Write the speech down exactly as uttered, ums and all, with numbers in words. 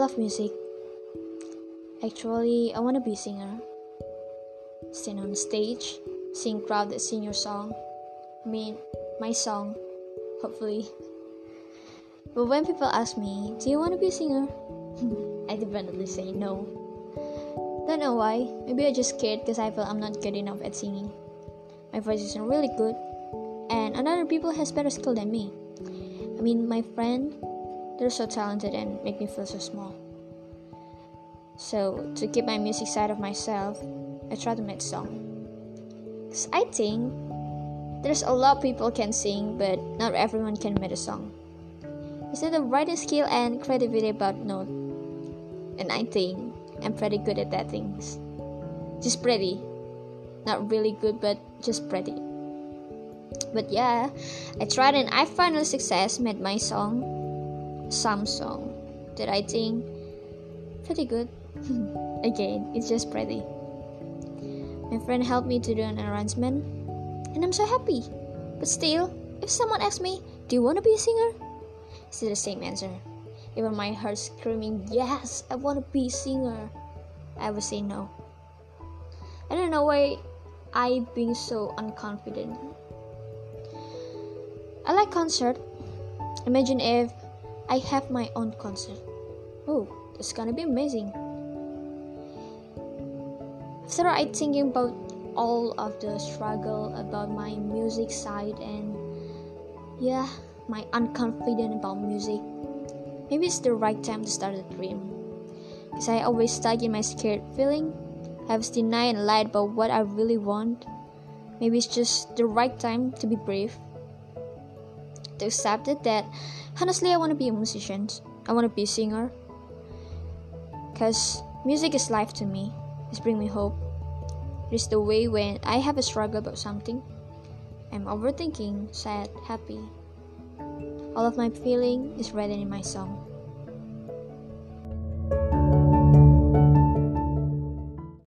love music. Actually, I want to be a singer. Stand on stage, sing crowd that sing your song. I mean, my song, hopefully. But when people ask me, do you want to be a singer? I definitely say no. Don't know why. Maybe I just scared because I feel I'm not good enough at singing. My voice isn't really good, and another people has better skill than me. I mean, my friend, they're so talented and make me feel so small. So to keep my music side of myself, I try to make song. Cause I think there's a lot of people can sing, but not everyone can make a song. It's not the writing skill and creativity about note, and I think I'm pretty good at that things. Just pretty, not really good, but just pretty. But yeah, I tried and I finally success made my song, some song that I think pretty good. Again, it's just pretty. My friend helped me to do an arrangement, and I'm so happy. But still, if someone asks me, do you want to be a singer? It's the same answer. Even my heart screaming, yes, I want to be a singer, I would say no. I don't know why I being so unconfident. I like concert. Imagine if I have my own concert. Oh, it's gonna be amazing. After I thinking about all of the struggle about my music side and yeah, my unconfident about music, maybe it's the right time to start a dream. Cause I always stuck in my scared feeling. I was denied and lied about what I really want. Maybe it's just the right time to be brave. To accept it that honestly I want to be a musician. I want to be a singer. Cause music is life to me. It's bring me hope. It is the way when I have a struggle about something. I'm overthinking, sad, happy. All of my feeling is written in my song.